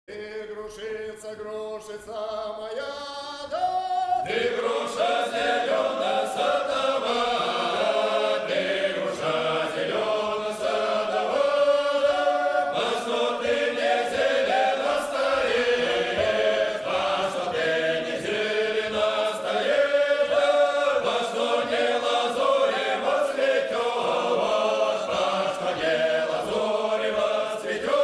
Ты грушица моя, да, ты груша зелена садовая, ты груша зелена садовая, по что ты не зелено стоишь, по что ты не зелено стоишь, по что не лазорево цветешь, по что не лазорево цветешь.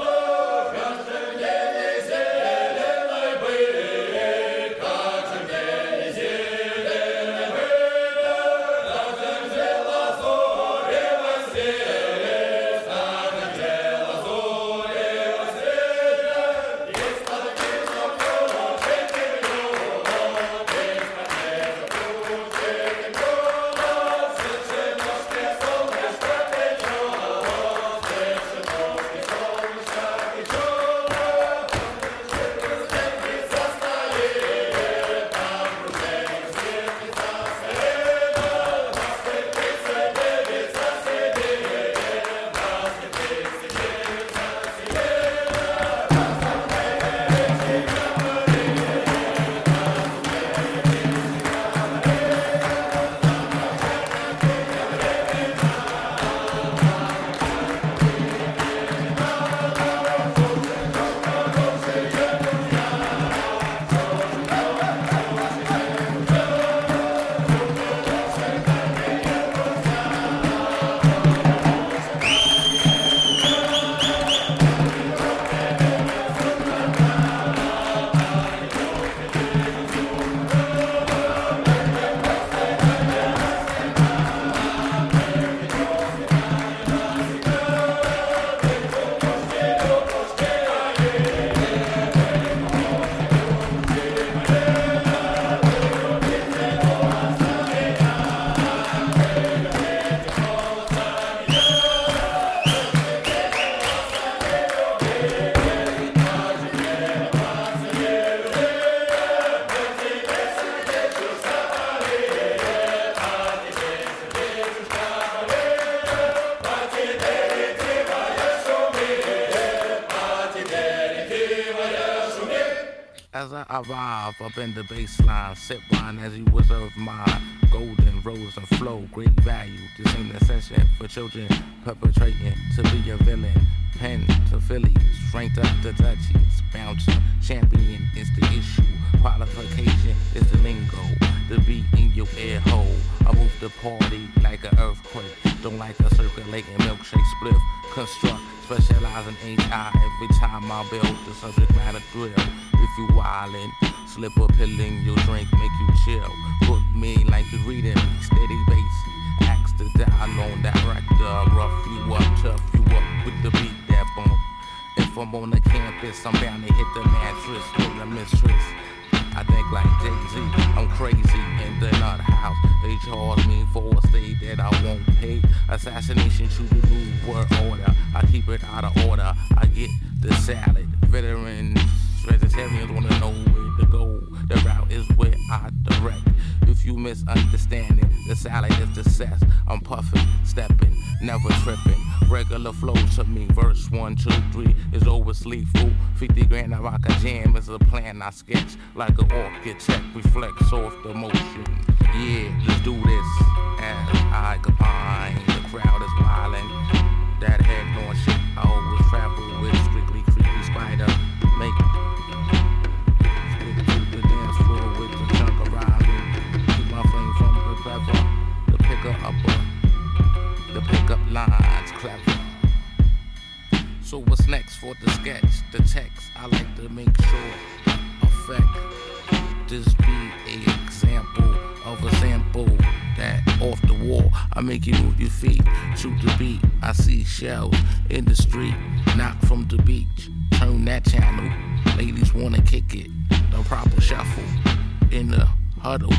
As I arrive up in the baseline, sip wine as you reserve mine. Golden rose and flow, great value. This ain't a session for children perpetrating to be a villain. Pen to Phillies, strength up to touchies. Bouncer, champion is the issue. Qualification is the lingo. The beat in your ear hole. I move the party like an earthquake. Don't like a circulating milkshake spliff. Construct, specialize in HI. Every time I build the subject matter thrill. If you wildin', slip a pill in your drink, make you chill. Book me like you reading me, steady bassy. Axe to dial on that director. Rough you up, tough you up with the beat that bump. If I'm on the campus, I'm bound to hit the mattress with a mistress. I think like Jay-Z, I'm crazy in the nut house. They charge me for a stay that I won't pay. Assassination to the new world order. I keep it out of order. I get the salad. Veterans, vegetarians wanna know where to go. The route is where I direct. If you misunderstand it, the salad is the cess. I'm puffing, stepping, never tripping. Regular flow to me, verse 1, 2, 3 is always lethal. 50 grand I rock a jam is a plan I sketch. Like an architect, reflects off the motion. Yeah, let's do this. As I combine, the crowd is wildin'. That head on shit, I always travel with strictly creepy spider. Make stick to the dance floor with the chunk of rising. Keep my flame from the clever. The pickup lines clever. So what's next for the sketch? The text, I like to make sure affect. This be an example of a sample that off the wall. I make you move your feet to the beat. I see shells in the street, not from the beach. Turn that channel. Ladies wanna kick it. The proper shuffle in the huddle.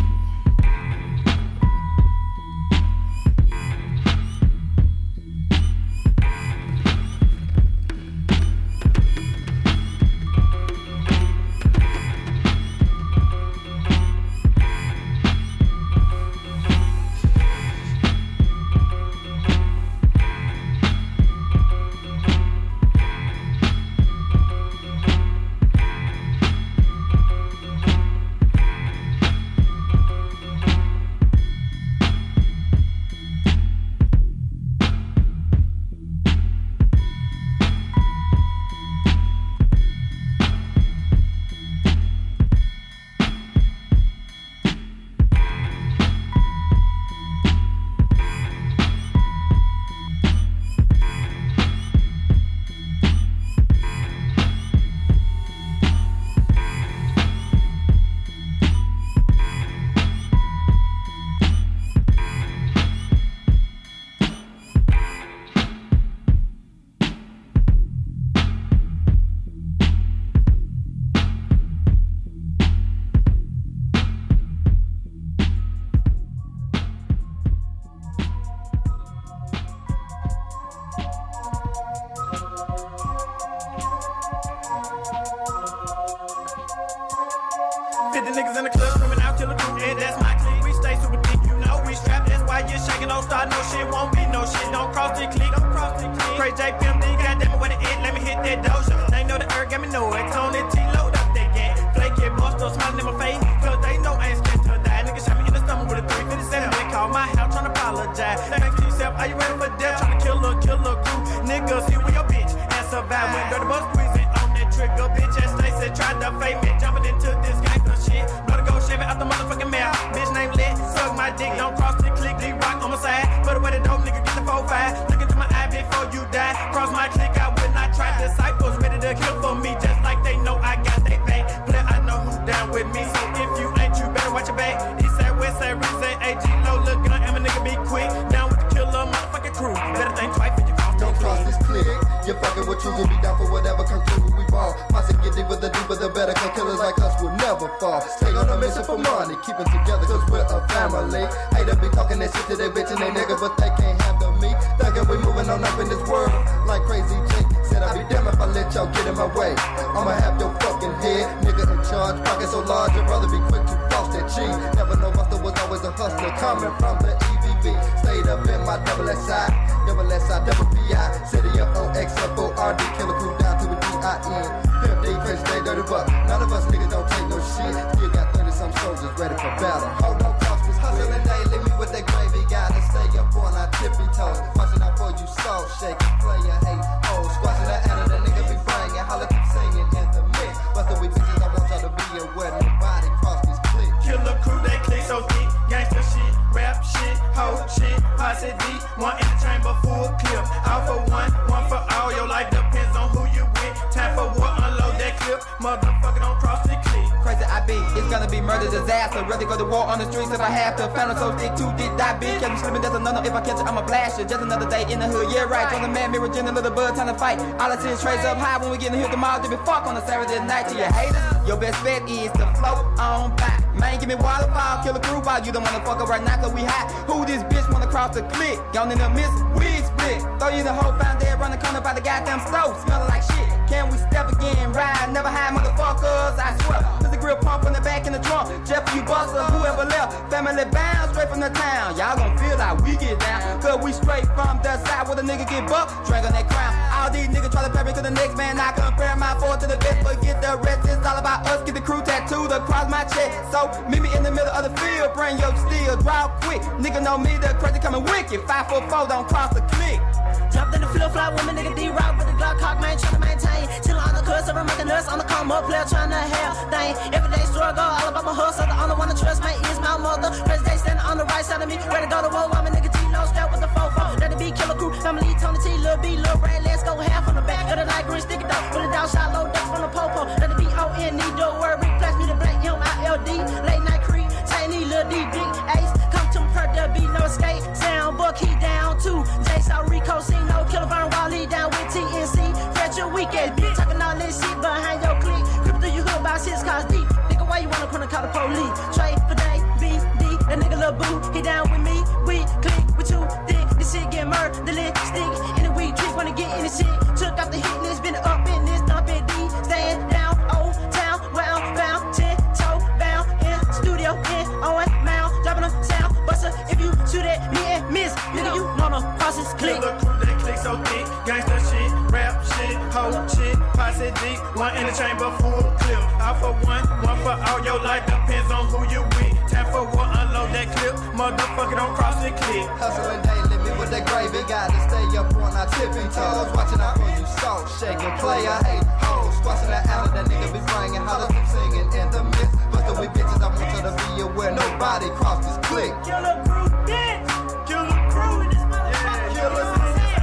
50 niggas in the club screaming out Killer Crew, and that's my clique. We stay super thick, you know we strapped. That's why you're shaking, don't start no shit, won't be no shit. Don't cross the clique, don't cross the clique. Crazy J Pimp, goddamn it, where the it? Let me hit that doja. They know the earth, got me know it. Tony T, load up that gang. Flake it, Busto, smiling in my face, cause they know I ain't scared to die. Nigga shot me in the stomach with a 357. They call my house tryna apologize. Thanks to yourself, are you ready for death? Tryna kill a crew. Niggas, here with your bitch and survive. When dirty bus squeezing on that trigger, bitch ass Stacey tried to fake me. Jumping into this gangster shit. Bloody go Chevy out the motherfucking mouth. Bitch named Lit, suck my dick. Don't cross the click, D-Rock on my side. Put away the dope, nigga, get the 4-5. Look into my eye before you die. Cross my click, I will not try. Disciples ready to kill for me, just like they know I got they back. Play, I know who's down with me, so if you ain't, you better watch your back. East side, west side, Reese side, AG, low, look gun, and my nigga be quick. Down with the killer, motherfucking crew. Better think twice when you cross. Don't cross this clique. You're fucking with truth, you'll be down for whatever conclusion we ball. Posse get deeper, the deeper, the better. Cause killers like us will never fall. Stay on a mission for money, keep it together, cause we're a family. Hate to be talking that shit to their bitch and they nigga, but they can't handle me. Thinking we moving on up in this world like crazy Jake. Said I'd be damned if I let y'all get in my way. I'ma have your fucking head, nigga in charge. Pocket so large, your brother be quick to floss that cheese. Never know Buster was always a hustler coming from the EVB. Stayed up in my double SI, double PI. City of OXFORD, Killer Crew down to a DIN. Pimp D, crazy stay dirty buck. None of us niggas don't take no shit. Still got 30-some soldiers ready for battle. Hold on, cross this hustling day, leave me with that gravy. Gotta stay up on our tippy toes. Watching out for you soul shaking, player hate hoes. Squashing that out of the nigga be banging. Holla keep singing in the mix. Bustin' we bitches, I want y'all to be aware. Nobody cross this clique. Killer Crew, they click so deep. Gangsta shit, rap shit, hoe shit, posse deep. One in the chamber, full clip. All for one for all. Your life depends on who you with. Time for war, unload that clip. Motherfucker, don't cross the clique. Crazy I be, it's gonna be murder disaster. Rather go to war on the streets if I have to. Found so thick, too deep, die big. Catch me slipping, that's a no-no. If I catch it, I'ma blast you. Just another day in the hood, yeah right. On the man, mirror, gin, a little bud, time to fight. All I see is trays up high when we get in here tomorrow. To be fuck on a Saturday night to your haters. Your best bet is to float on by. Man, give me waterfall, Killer Crew while you don't wanna fuck up right now, cause we hot. Who this bitch wanna cross the clique? Gone in the miss, wig split. Throw you the whole found there, run the corner by the goddamn stove, smelling like shit. Can we step again? Ride, never hide, motherfuckers, I swear. There's a grill pump in the back in the trunk. Jeff, you busters, whoever left. Family bound, straight from the town. Y'all gon' feel like we get down. Cause we straight from the side where the nigga get bucked, drag on that crown. All these niggas try to pair me to the next man. I compare my four to the best, forget the rest. It's all about us. Get the crew tattooed across my chest. So meet me in the middle of the field. Bring your steel, draw quick. Nigga know me, the crazy coming wicked. 5'4", don't cross the clique. Jumped in the flip-flop with my nigga D-Rock with the Glock cock, man, tryna maintain. Till on the curse, I'm making us on the come up, player tryna have thing. Everyday struggle, all about my hustle. The only one to trust, man, is my mother. President standing on the right side of me, ready to go to war. I'm a nigga T-Lo, strapped with the 4-4. Let it be Killer Crew, family Tony T, Lil B, Lil Brad, let's go half on the back. Of the light green sticky dog, with a dog shot low, duck from the popo. Let it be O-N-E, don't worry, flash me the black, M-I-L-D. Late night Creed, Chinese, Lil D, Big Ace. Come to me, per there be no escape. Sound book, he down too. J Saw Rico, see no Killer Von Raleigh down with TNC. Fred your weekend, bitch. Talking all this shit behind your clique. Creep through your hood about 6 cars deep. Nigga, why you wanna call the police? Trey for day, BD. That nigga Lil Boo, he down with me. We click with you, dick. This shit get murdered, the lipstick. In the weed trick, wanna get in this shit. Took out the hit list, been up in this, dump in D. Stand down, old town, well bound, 10-toe bound. In studio, in on mount. Dropping a sound, buster. If you shoot at me and miss, nigga, you know no process click. Killer Crew, they click so thick. Gangsta shit, rap shit, hoe shit, posse deep. One in the chamber, full clip. All for one for all. Your life depends on who you with. Time for war, unload that clip. Motherfucker, don't cross the clip. Hustling daily, me with that gravy. Gotta stay up on our tippy toes. Watching out for you, salt shaking. Player hate hoes. Squashing that out of that nigga be bringing. Hollers keep singing in the mist. Bustin' we bitches, I want you to be aware. Nobody cross this clique. Killer Crew, dance. Killer Crew in this motherfucker. Killer Crew.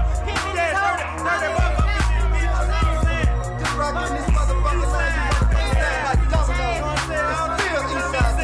Just rockin' this motherfucker like dominoes. Still Eastside,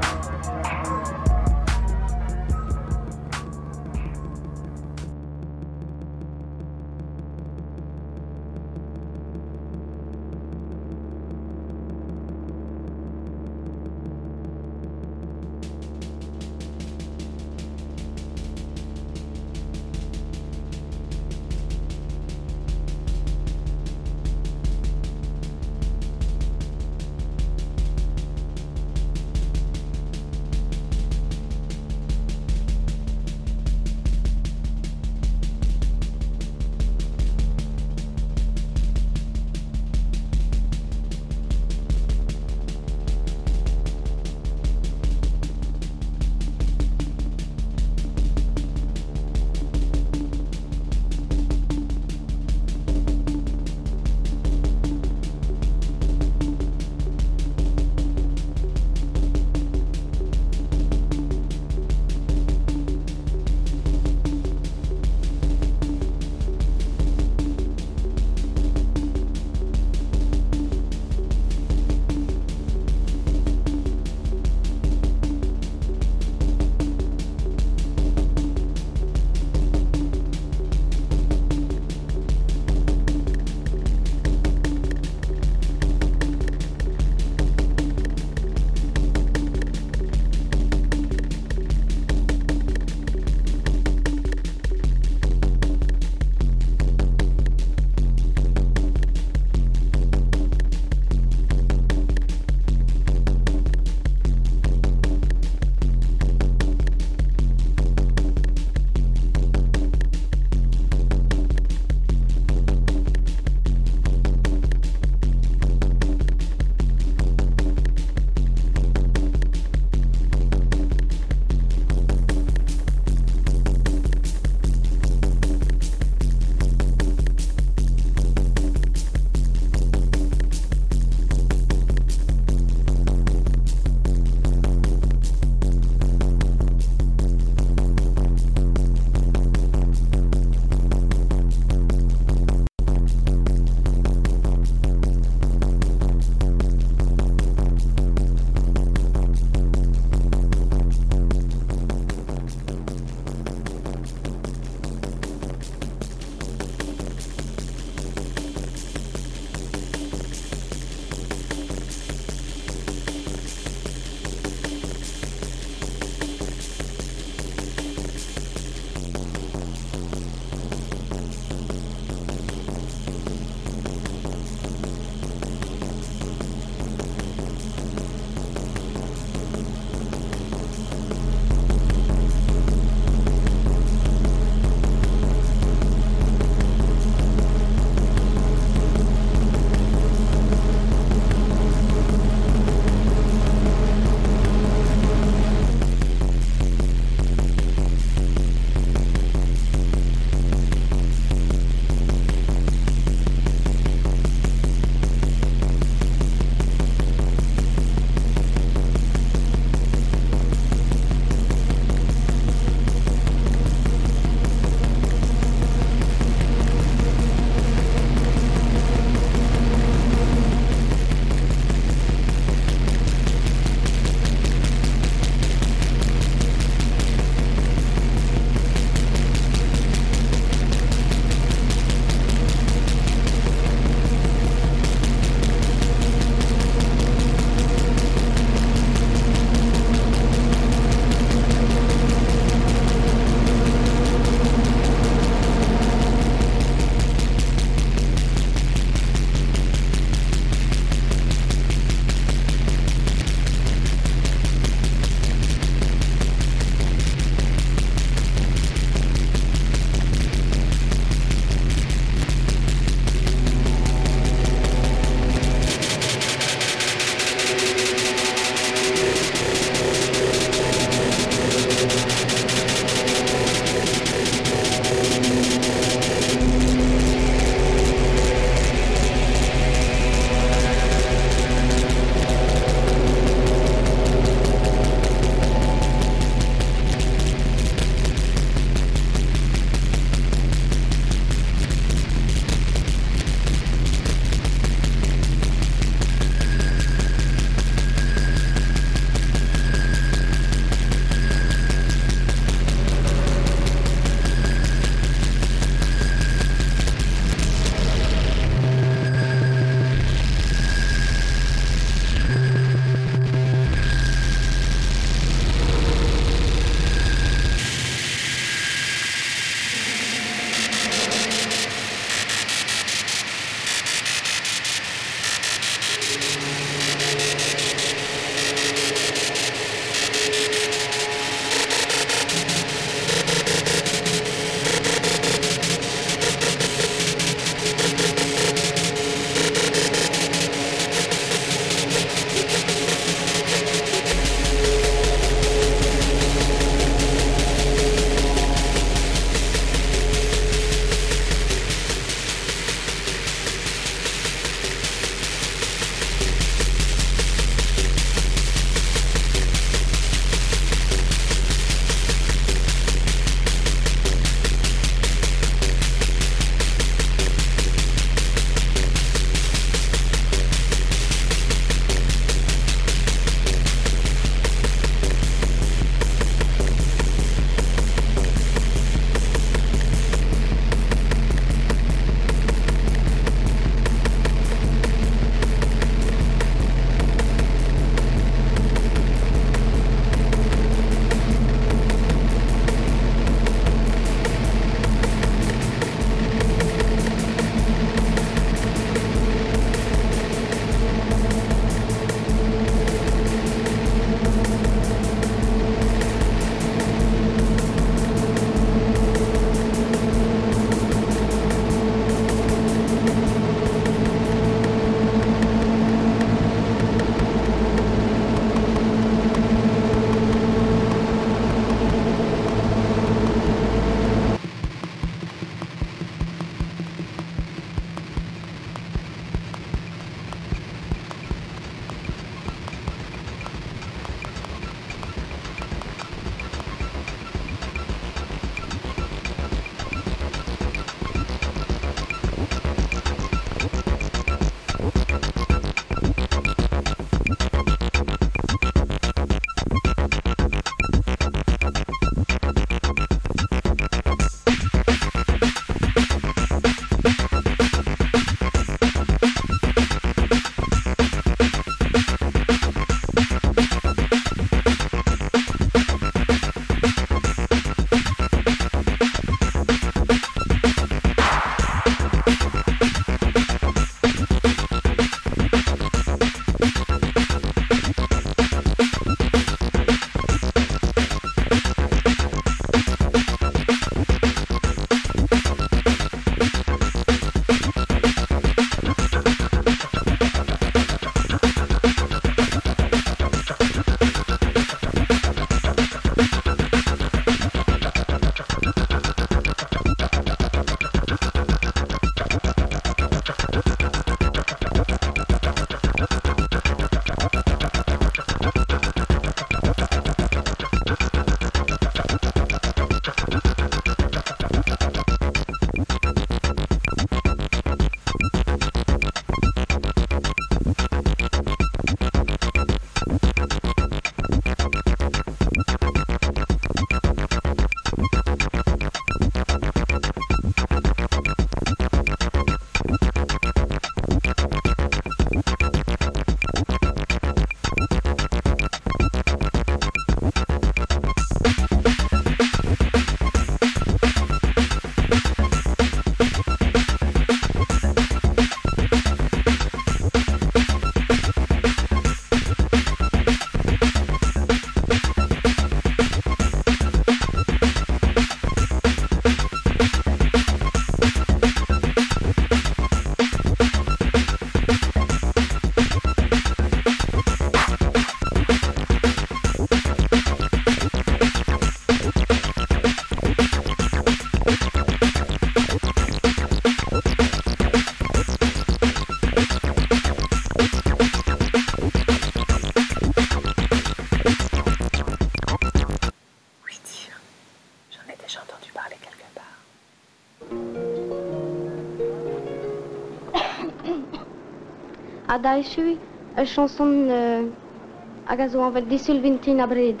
Adaishui, chanson agazo anvel di Sylvintina Bred.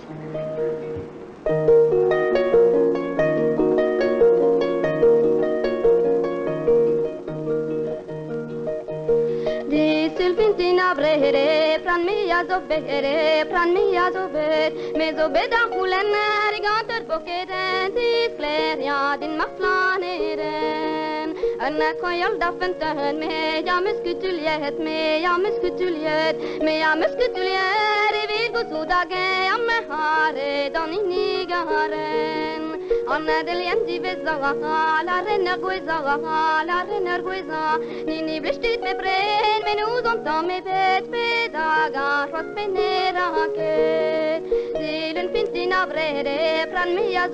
Di Sylvintina Bred, pran mia zobet, me zobeda hulen riganter bokeden, diskleria din maflaneren. أنا كويل دفنتهن ميا مسكتوليت ميا مسكتوليت ريفيل قصودا جاي أم هاري داني نيجارن أنا دلين دي بزغا لا رنر غويزا نيني بلشتيت ببرين من وزن تامي بيت بداغا روس بنيراكي ديلن فينتينا بريري بران ميا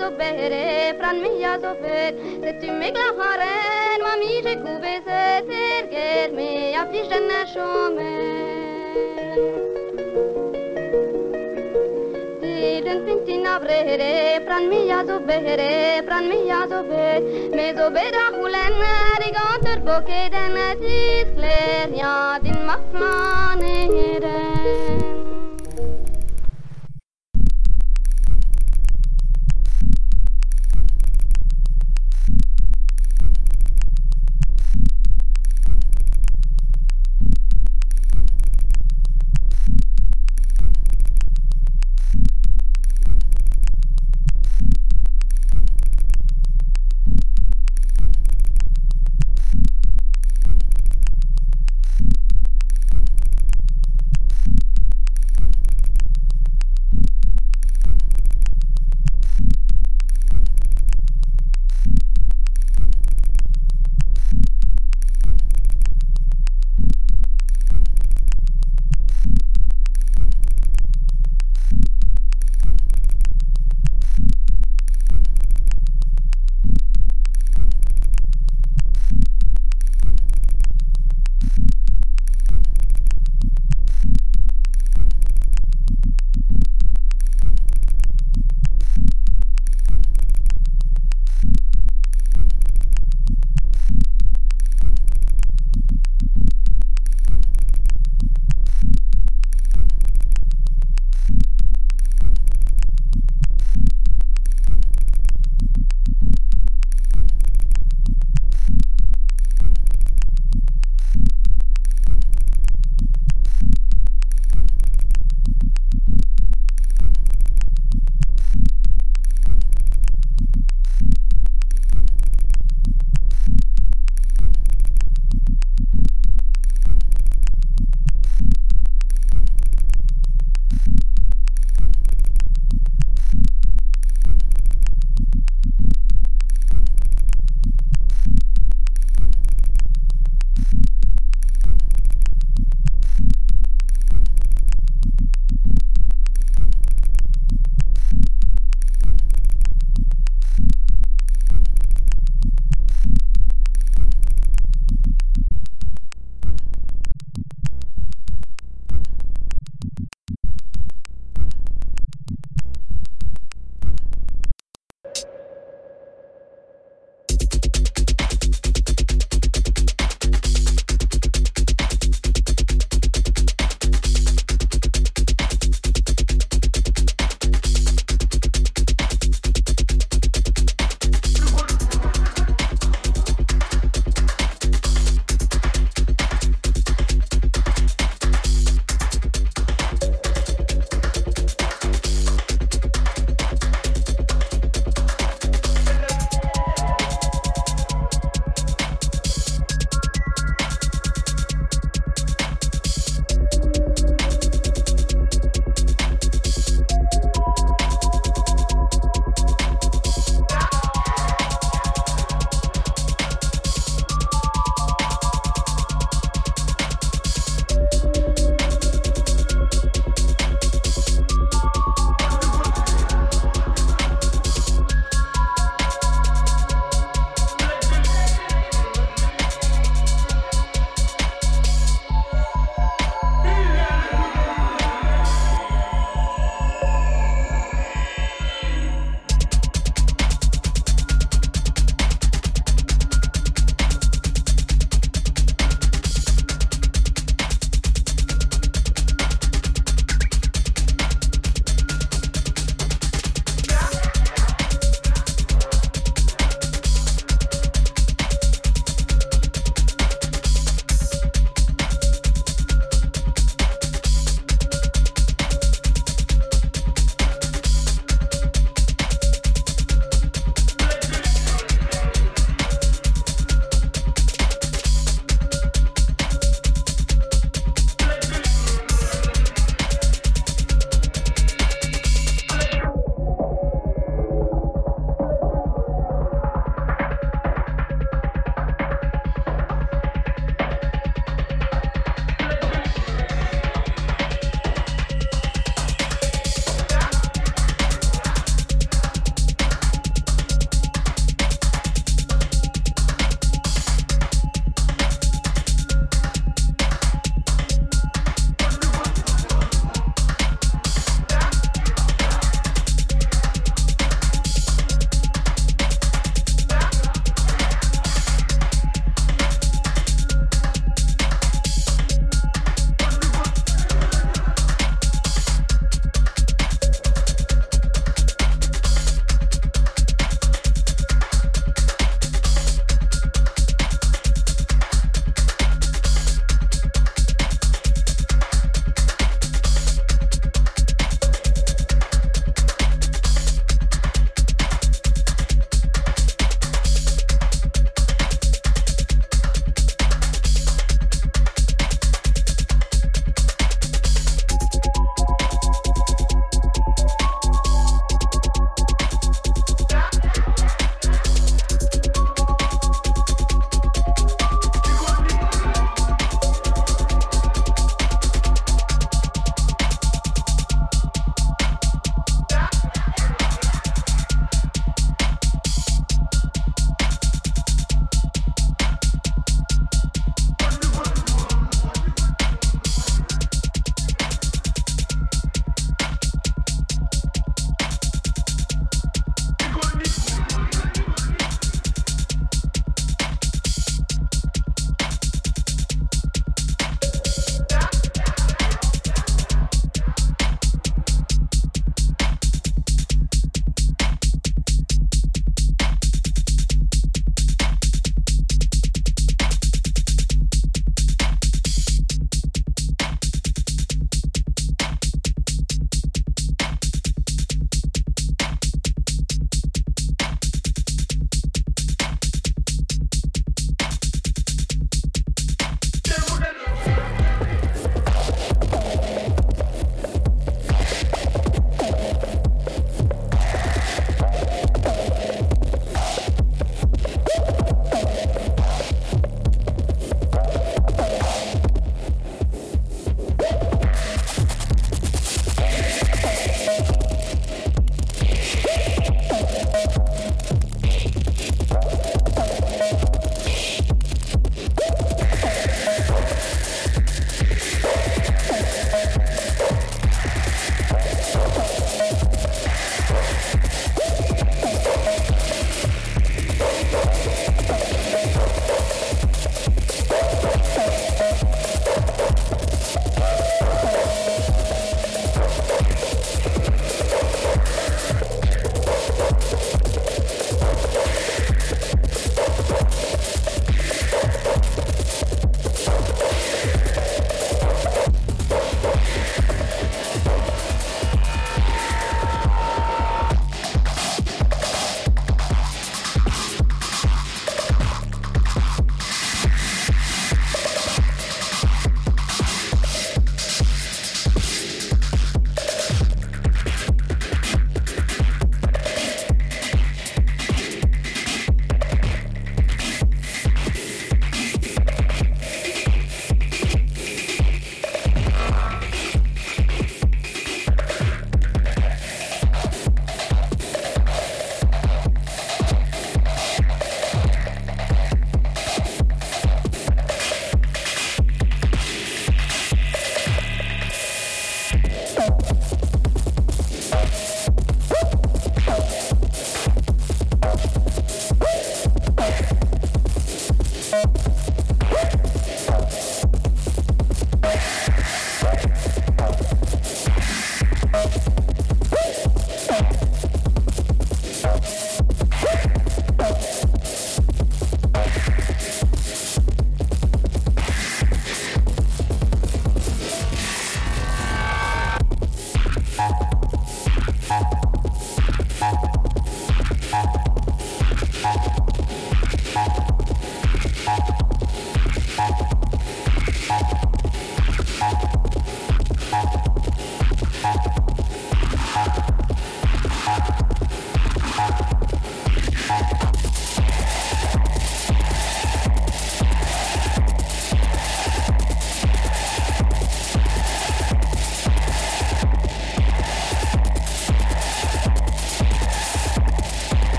زوبيت ستي ميغلا هارن مامي جكوبي ستيرجير ميا فيجن شومن ديلن فينتينا بريري بران ميا زوبيت مي زوبيدا هولن ريغانتر بوكيدن تيسكلير يا دين مفلانيرن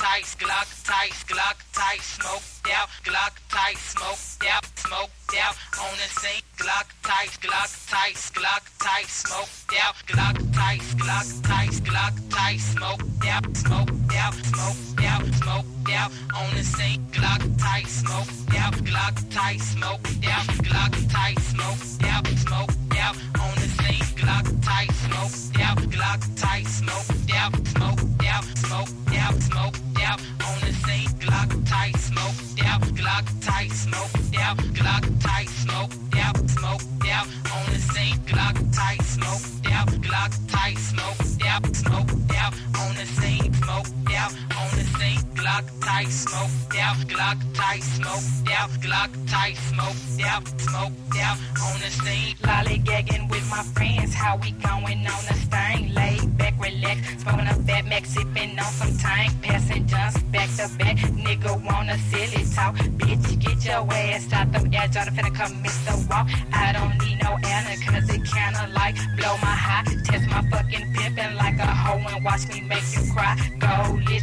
Glock tight, smoked out, Glock tight, smoked out, on the scene, Glock tight, smoked out, Glock tight, smoked out, smoked out, on the scene, Glock tight, smoked out, Glock tight, smoked out, on the scene, Glock tight, smoked out, Glock tight, smoked out, on the scene, Glock tight, smoked out, Glock tight, smoked out, on the scene, Glock tight, smoked out, Glock tight, smoked out, on the scene, smoked out, on the scene, Glock tight, smoked out, Glock tight, smoked out, on the scene. Lollygagging with my friends, how we going on a stain? Laid back, relax, smoking a fat Mac, sipping on some tank, passing just back to back. Nigga wanna silly talk, bitch, get your ass out the air, Jordan finna come miss the walk. I don't need no Anna, cause it kinda like blow my high, test my fucking pimpin' like a hoe and watch me make you cry. Go lit,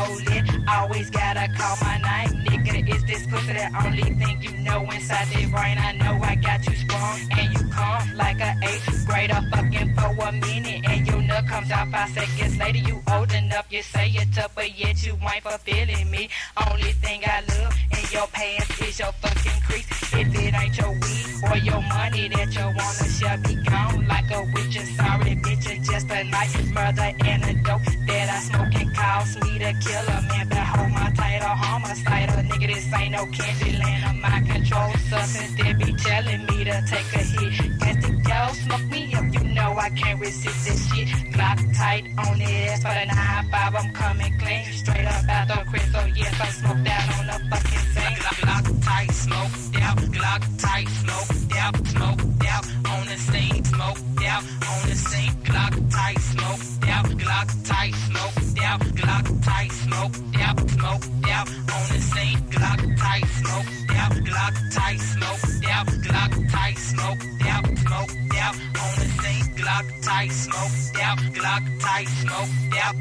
always gotta call my name, nigga, is this pussy the only thing you know inside the brain? I know I got you sprung, and you come like a 8th grader fucking for a minute, and your nut comes out 5 seconds later. You old enough, you say you're tough, but yet you ain't fulfilling me. Only thing I love in your pants is your fucking crease. If it ain't your weed or your money that you wanna share, be gone like a witch. And sorry, bitch, it's just a night murder and a dope that I smoke and cause me to kill a man. Behold my title, homicidal, nigga, this ain't no candy land of my control substance. They be telling me to take a hit. Guess the girl smoke me up, you know I can't resist this shit. Glock tight on it, ass for the 9-5, I'm coming clean, straight up out the crib, so yes, I'm smoked out on the fucking scene. Glock tight, smoked out, Glock tight, smoked out, on the scene, smoked out, on the scene, Glock tight, smoked out, Glock tight, smoked out, Glock tight, smoked out, on the scene, Glock tight, smoked out, Glock tight, smoked out, Glock tight, smoked out, on the scene, Glock tight, smoked out, Glock tight, smoked out,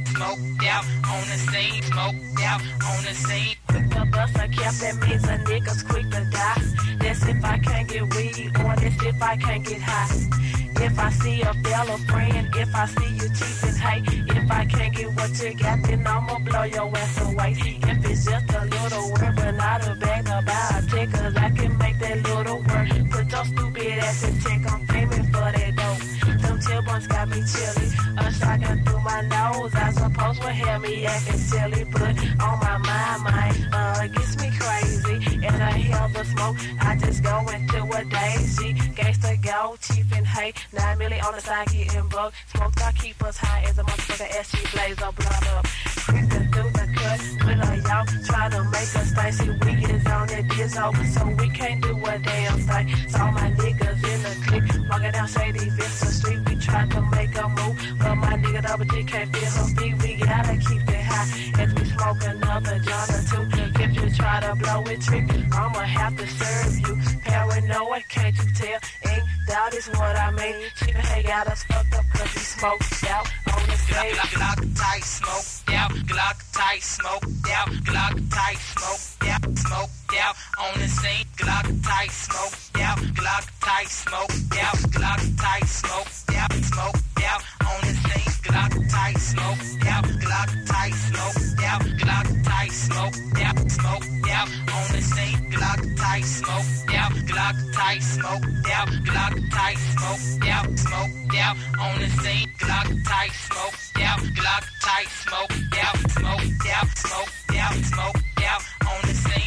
on the scene, smoked out, on the scene. Quick to bust a cap, that means a nigga's quick to die. That's if I can't get weed, or that's if I can't get high. If I see a fellow friend, if I see you cheating, hey, if I can't get what you got, then I'ma blow your ass away. If it's just a little work, but not a bag to buy a check, cause I can make that little work. Put your stupid ass in check, I'm famous for that dope. Them chill buns got me chilly, a shotgun through my nose. I suppose will have me acting silly, but on my mind, gets me crazy. And I hell the smoke, I just go into a daisy. Gangsta go, chief and hate. 9 million on the side getting bugged. Smoke I keep us high as a motherfucker SG blaze up, blood up. Creeping through the cut, with a y'all try to make us think. See, we is on that biz over, so we can't do a damn thing. So my niggas in the clique, walking down Shady Vista Street. We try to make a move, but my nigga Double G can't feel her feet. We gotta keep it high as we smoke another John or two. If you try to blow it trick, I'ma have to serve you. Paranoid, can't you tell? Ain't doubt is what I mean. She done got us fucked up cause he smoked out on the stage. Glock tight, smoked out, Glock tight, smoked out, Glock tight, smoked out, on the scene, Glock tight, smoked out, Glock tight, smoked out, Glock tight, smoked out, on the scene, Glock tight, smoked out, Glock tight, smoked out, Glock tight, smoked out, on the scene, Glock tight, smoked out, Glock tight, smoked out, Glock tight, smoked out, on the scene, Glock tight, smoked out, Glock tight, smoked out, on the scene.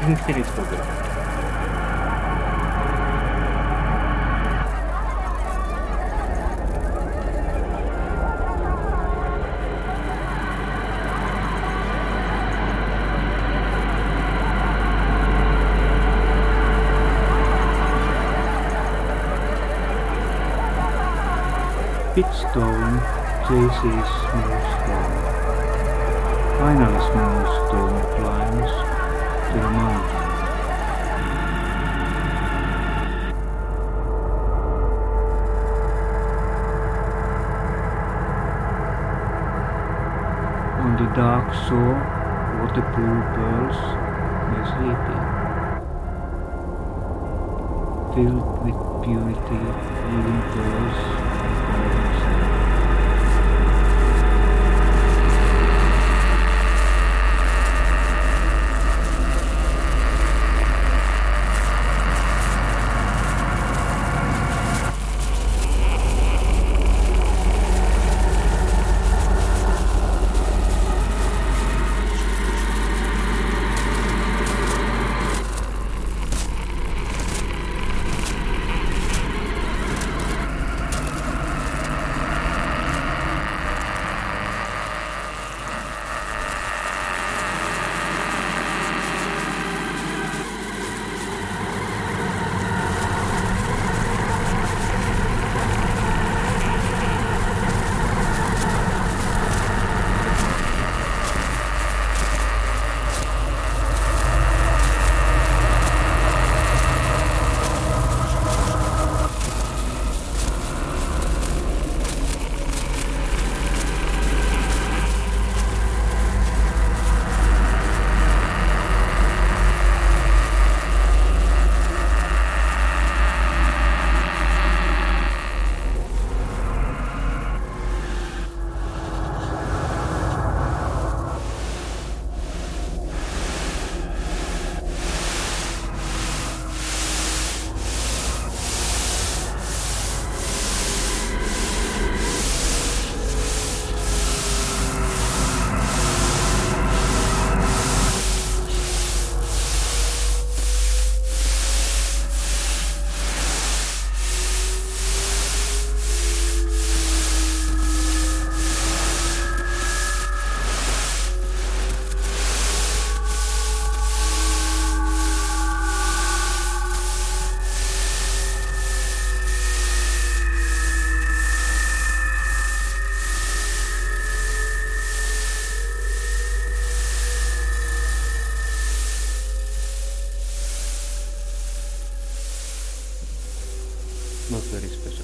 Infinite Program. Pitstone, Jay-Z's Smoothstone. Finally Smoothstone climbs to the mountain. On the dark shore, waterpool pearls were sleeping. Filled with purity, living pearls. Not very special.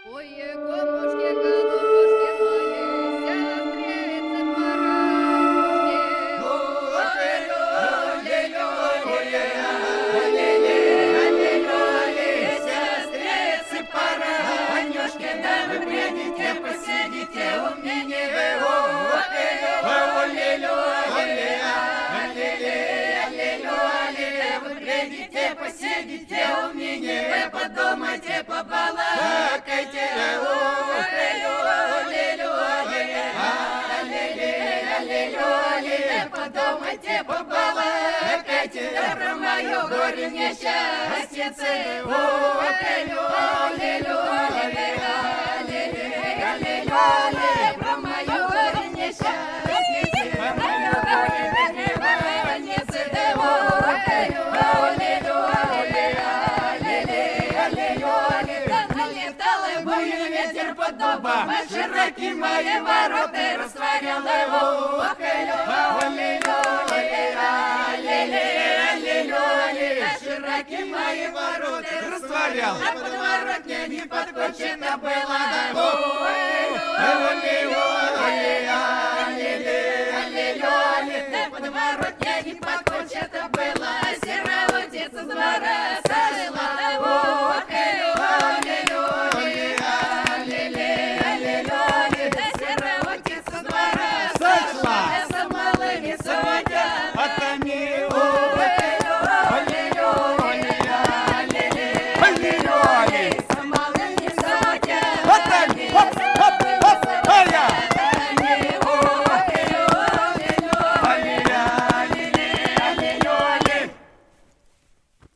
Подумайте, побалакайте, подумайте, побалакайте про мое горе несчастье, про мое горе несчастье, мое горе ветер под дубом, широки мои ворота, растворял его, широки мои ворота, растворял, а подворотня не подкочена была.